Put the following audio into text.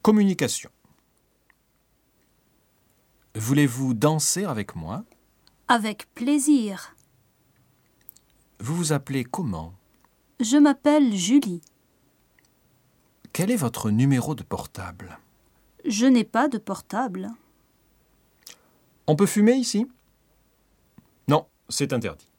Communication. Voulez-vous danser avec moi? Avec plaisir. Vous vous appelez comment? Je m'appelle Julie. Quel est votre numéro de portable? Je n'ai pas de portable. On peut fumer ici? Non, c'est interdit.